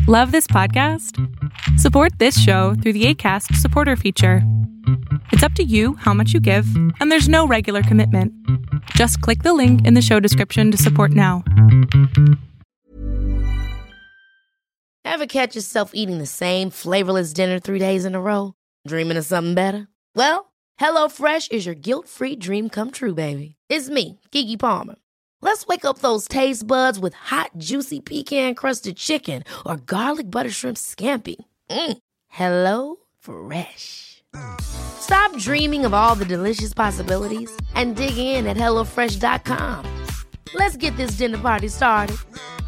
Love this podcast? Support this show through the Acast supporter feature. It's up to you how much you give, and there's no regular commitment. Just click the link in the show description to support now. Ever catch yourself eating the same flavorless dinner 3 days in a row? Dreaming of something better? Well, HelloFresh is your guilt-free dream come true, baby. It's me, Keke Palmer. Let's wake up those taste buds with hot, juicy pecan-crusted chicken or garlic butter shrimp scampi. Hello Fresh. Stop dreaming of all the delicious possibilities and dig in at HelloFresh.com. Let's get this dinner party started.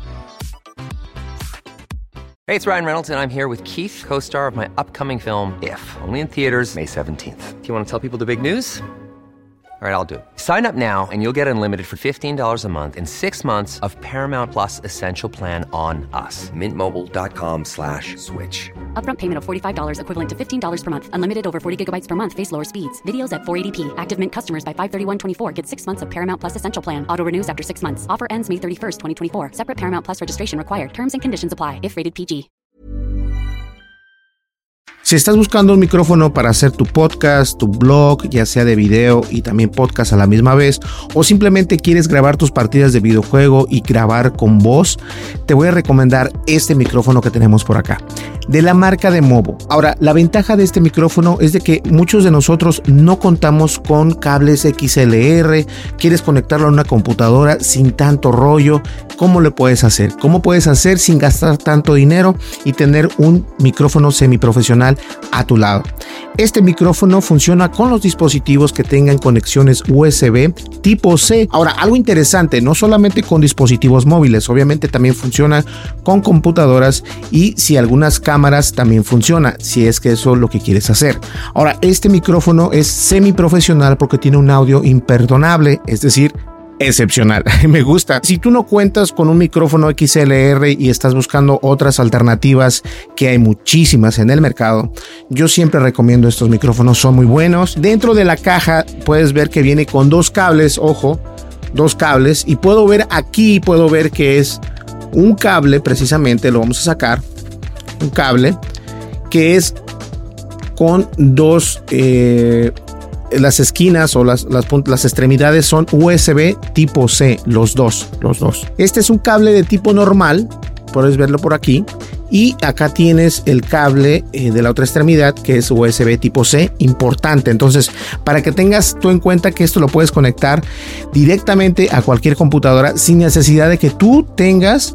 Hey, it's Ryan Reynolds, and I'm here with Keith, co-star of my upcoming film, If, only in theaters May 17th. Do you want to tell people the big news? All right, I'll do it. Sign up now and you'll get unlimited for $15 a month and 6 months of Paramount Plus Essential Plan on us. MintMobile.com/switch. Upfront payment of $45 equivalent to $15 per month. Unlimited over 40 gigabytes per month. Face lower speeds. Videos at 480p. Active Mint customers by 531.24 get 6 months of Paramount Plus Essential Plan. Auto renews after 6 months. Offer ends May 31st, 2024. Separate Paramount Plus registration required. Terms and conditions apply if rated PG. Si estás buscando un micrófono para hacer tu podcast, tu blog, ya sea de video y también podcast a la misma vez, o simplemente quieres grabar tus partidas de videojuego y grabar con voz, te voy a recomendar este micrófono que tenemos por acá, de la marca de Movo. Ahora, la ventaja de este micrófono es de que muchos de nosotros no contamos con cables XLR, quieres conectarlo a una computadora sin tanto rollo. ¿Cómo lo puedes hacer? ¿Cómo puedes hacer sin gastar tanto dinero y tener un micrófono semiprofesional a tu lado? Este micrófono funciona con los dispositivos que tengan conexiones USB tipo C. Ahora, algo interesante, no solamente con dispositivos móviles, obviamente también funciona con computadoras y si algunas cámaras también funciona, si es que eso es lo que quieres hacer. Ahora, este micrófono es semiprofesional porque tiene un audio imperdonable, es decir, excepcional. Me gusta. Si tú no cuentas con un micrófono XLR y estás buscando otras alternativas, que hay muchísimas en el mercado, yo siempre recomiendo estos micrófonos, son muy buenos. Dentro de la caja puedes ver que viene con 2 cables, ojo, 2 cables, y puedo ver que es un cable, precisamente lo vamos a sacar, un cable que es con 2 las esquinas o las extremidades son USB tipo C, los dos. Este es un cable de tipo normal, puedes verlo por aquí, y acá tienes el cable de la otra extremidad que es USB tipo C, importante. Entonces, para que tengas tú en cuenta que esto lo puedes conectar directamente a cualquier computadora sin necesidad de que tú tengas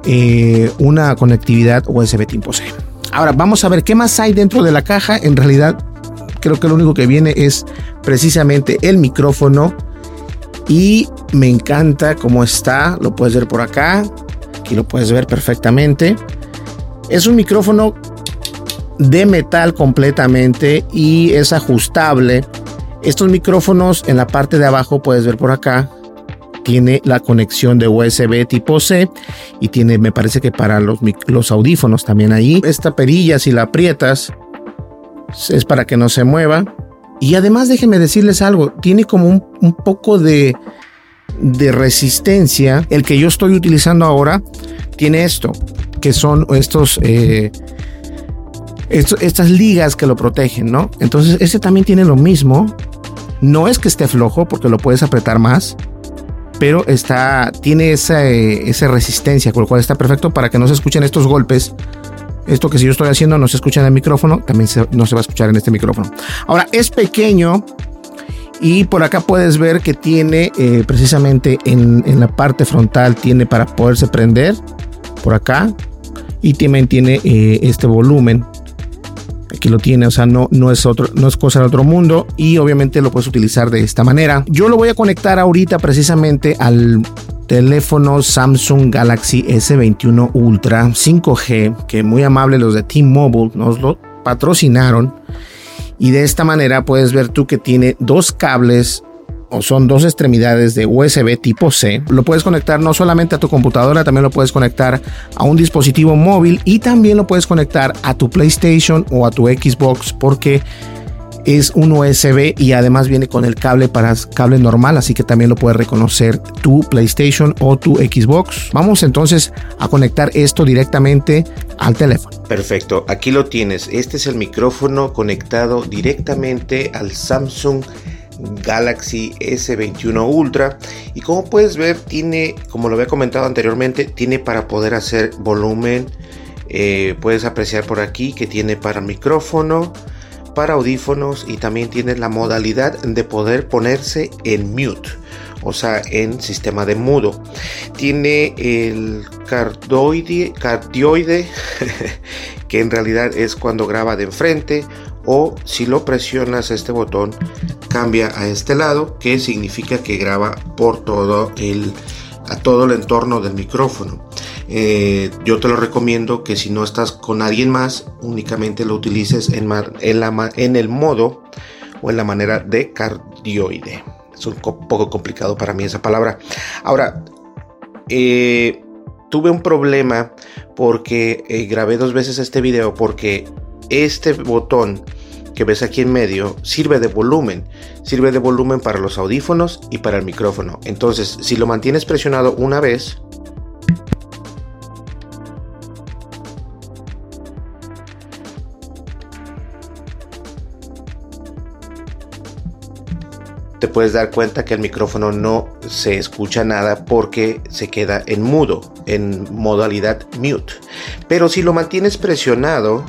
una conectividad USB tipo C. Ahora, vamos a ver qué más hay dentro de la caja. En realidad, creo que lo único que viene es precisamente el micrófono y me encanta cómo está. Lo puedes ver por acá. Aquí lo puedes ver perfectamente. Es un micrófono de metal completamente y es ajustable. Estos micrófonos en la parte de abajo puedes ver por acá. Tiene la conexión de USB tipo C y tiene, me parece que para los audífonos también ahí. Esta perilla, si la aprietas, es para que no se mueva. Y además déjenme decirles algo, tiene como un poco de resistencia. El que yo estoy utilizando ahora tiene esto, que son estas ligas que lo protegen, ¿no? Entonces este también tiene lo mismo. No es que esté flojo porque lo puedes apretar más, pero tiene esa resistencia, con lo cual está perfecto para que no se escuchen estos golpes. Esto que si yo estoy haciendo no se escucha en el micrófono, también no se va a escuchar en este micrófono. Ahora, es pequeño y por acá puedes ver que tiene precisamente en la parte frontal, tiene para poderse prender por acá y también tiene este volumen. Aquí lo tiene, o sea, no es cosa de otro mundo y obviamente lo puedes utilizar de esta manera. Yo lo voy a conectar ahorita precisamente al teléfono Samsung Galaxy S21 Ultra 5G, que muy amable los de T-Mobile nos lo patrocinaron, y de esta manera puedes ver tú que tiene 2 cables o son 2 extremidades de USB tipo C. Lo puedes conectar no solamente a tu computadora, también lo puedes conectar a un dispositivo móvil y también lo puedes conectar a tu PlayStation o a tu Xbox, porque es un USB y además viene con el cable para cable normal, así que también lo puede reconocer tu PlayStation o tu Xbox. Vamos entonces a conectar esto directamente al teléfono. Perfecto, aquí lo tienes. Este es el micrófono conectado directamente al Samsung Galaxy S21 Ultra, y como puedes ver tiene, como lo había comentado anteriormente, tiene para poder hacer volumen. Puedes apreciar por aquí que tiene para micrófono, para audífonos, y también tiene la modalidad de poder ponerse en mute, o sea, en sistema de mudo. Tiene el cardioide que en realidad es cuando graba de enfrente, o si lo presionas este botón cambia a este lado, que significa que graba por todo el entorno del micrófono. Yo te lo recomiendo que si no estás con alguien más, únicamente lo utilices en el modo o en la manera de cardioide. Es un poco complicado para mí esa palabra. Ahora, tuve un problema porque grabé 2 veces este video, porque este botón que ves aquí en medio sirve de volumen para los audífonos y para el micrófono. Entonces, si lo mantienes presionado una vez, te puedes dar cuenta que el micrófono no se escucha nada porque se queda en mudo, en modalidad mute. Pero si lo mantienes presionado,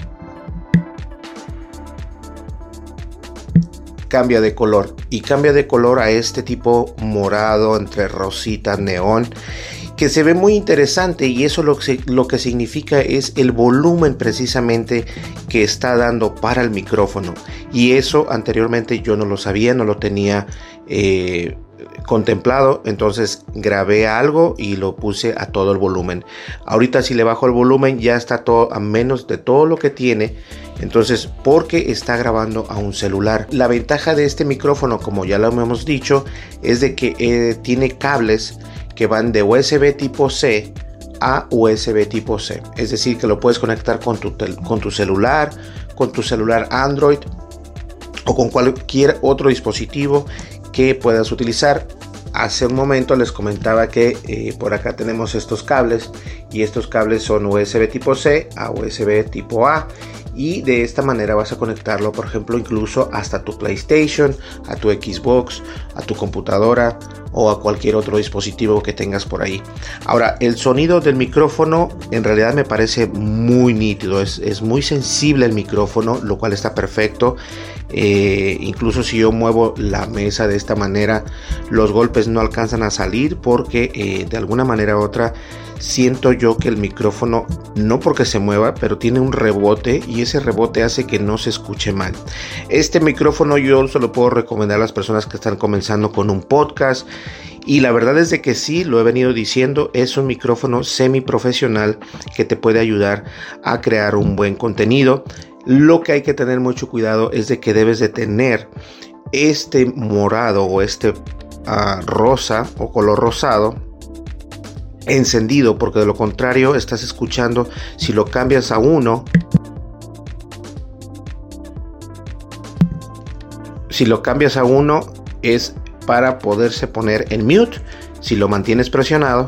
cambia de color, y cambia de color a este tipo morado entre rosita, neón, que se ve muy interesante, y eso lo que significa es el volumen precisamente que está dando para el micrófono, y eso anteriormente yo no lo sabía, no lo tenía contemplado. Entonces grabé algo y lo puse a todo el volumen. Ahorita si le bajo el volumen ya está todo a menos de todo lo que tiene, entonces porque está grabando a un celular. La ventaja de este micrófono, como ya lo hemos dicho, es de que tiene cables que van de USB tipo C a USB tipo C, es decir que lo puedes conectar con tu celular Android o con cualquier otro dispositivo que puedas utilizar. Hace un momento les comentaba que por acá tenemos estos cables, y estos cables son USB tipo C a USB tipo A, y de esta manera vas a conectarlo, por ejemplo, incluso hasta tu PlayStation, a tu Xbox, a tu computadora o a cualquier otro dispositivo que tengas por ahí. Ahora, el sonido del micrófono en realidad me parece muy nítido, es muy sensible el micrófono, lo cual está perfecto. Incluso si yo muevo la mesa de esta manera, los golpes no alcanzan a salir porque de alguna manera u otra siento yo que el micrófono, no porque se mueva, pero tiene un rebote, y ese rebote hace que no se escuche mal. Este micrófono yo se lo puedo recomendar a las personas que están comenzando con un podcast, y la verdad es de que sí, lo he venido diciendo, es un micrófono semiprofesional que te puede ayudar a crear un buen contenido. Lo que hay que tener mucho cuidado es de que debes de tener este morado o este rosa o color rosado encendido, porque de lo contrario estás escuchando, si lo cambias a uno, es para poderse poner en mute. Si lo mantienes presionado,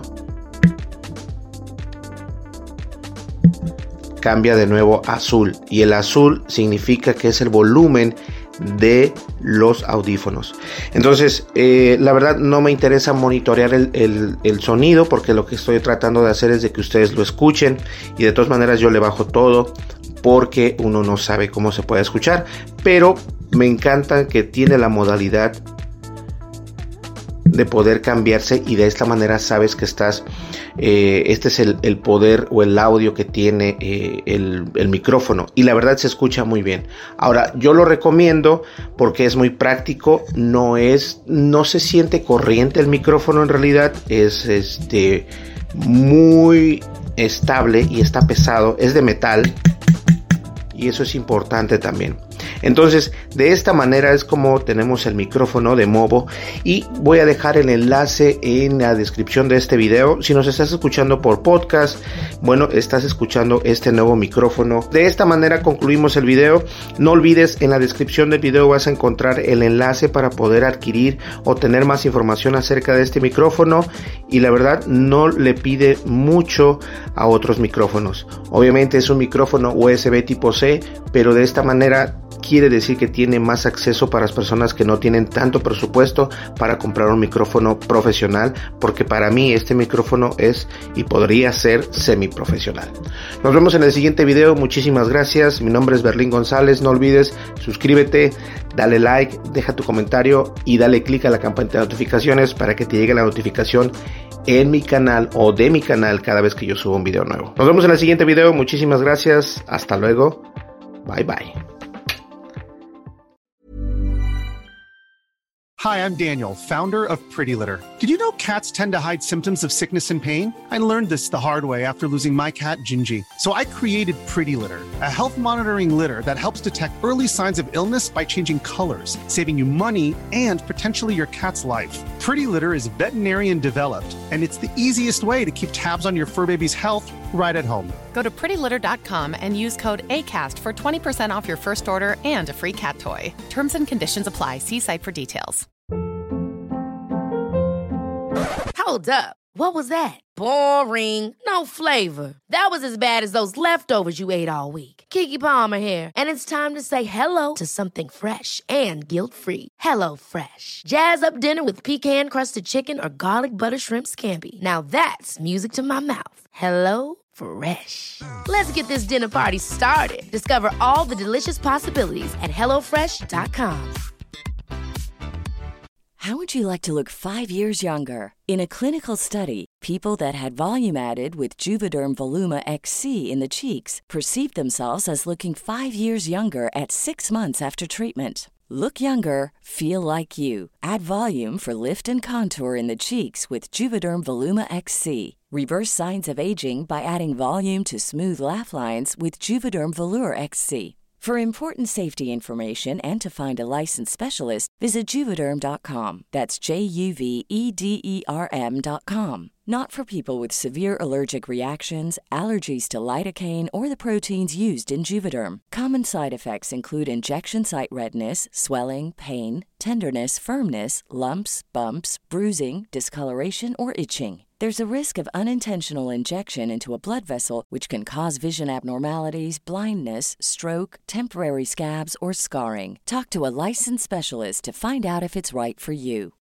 cambia de nuevo a azul, y el azul significa que es el volumen de los audífonos. Entonces la verdad no me interesa monitorear el sonido, porque lo que estoy tratando de hacer es de que ustedes lo escuchen, y de todas maneras yo le bajo todo porque uno no sabe cómo se puede escuchar, pero me encanta que tiene la modalidad de poder cambiarse, y de esta manera sabes que estás este es el poder o el audio que tiene el micrófono, y la verdad se escucha muy bien. Ahora, yo lo recomiendo porque es muy práctico, no se siente corriente el micrófono, en realidad es muy estable y está pesado, es de metal, y eso es importante también. Entonces, de esta manera es como tenemos el micrófono de Movo, y voy a dejar el enlace en la descripción de este video. Si nos estás escuchando por podcast, bueno, estás escuchando este nuevo micrófono. De esta manera concluimos el video. No olvides, en la descripción del video vas a encontrar el enlace para poder adquirir o tener más información acerca de este micrófono, y la verdad no le pide mucho a otros micrófonos. Obviamente es un micrófono USB tipo C, pero de esta manera quiere decir que tiene más acceso para las personas que no tienen tanto presupuesto para comprar un micrófono profesional, porque para mí este micrófono es y podría ser semiprofesional. Nos vemos en el siguiente video. Muchísimas gracias. Mi nombre es Berlín González. No olvides suscríbete, dale like, deja tu comentario y dale click a la campanita de notificaciones para que te llegue la notificación en mi canal o de mi canal cada vez que yo subo un video nuevo. Nos vemos en el siguiente video. Muchísimas gracias. Hasta luego. Bye bye. Hi, I'm Daniel, founder of Pretty Litter. Did you know cats tend to hide symptoms of sickness and pain? I learned this the hard way after losing my cat, Gingy. So I created Pretty Litter, a health monitoring litter that helps detect early signs of illness by changing colors, saving you money and potentially your cat's life. Pretty Litter is veterinarian developed, and it's the easiest way to keep tabs on your fur baby's health right at home. Go to prettylitter.com and use code ACAST for 20% off your first order and a free cat toy. Terms and conditions apply. See site for details. Hold up. What was that? Boring. No flavor. That was as bad as those leftovers you ate all week. Keke Palmer here, and it's time to say hello to something fresh and guilt-free. Hello Fresh. Jazz up dinner with pecan-crusted chicken or garlic butter shrimp scampi. Now that's music to my mouth. Hello Fresh. Let's get this dinner party started. Discover all the delicious possibilities at HelloFresh.com. How would you like to look 5 years younger? In a clinical study, people that had volume added with Juvederm Voluma XC in the cheeks perceived themselves as looking 5 years younger at 6 months after treatment. Look younger, feel like you. Add volume for lift and contour in the cheeks with Juvederm Voluma XC. Reverse signs of aging by adding volume to smooth laugh lines with Juvederm Volure XC. For important safety information and to find a licensed specialist, visit Juvederm.com. That's JUVEDERM.com. Not for people with severe allergic reactions, allergies to lidocaine, or the proteins used in Juvederm. Common side effects include injection site redness, swelling, pain, tenderness, firmness, lumps, bumps, bruising, discoloration, or itching. There's a risk of unintentional injection into a blood vessel, which can cause vision abnormalities, blindness, stroke, temporary scabs, or scarring. Talk to a licensed specialist to find out if it's right for you.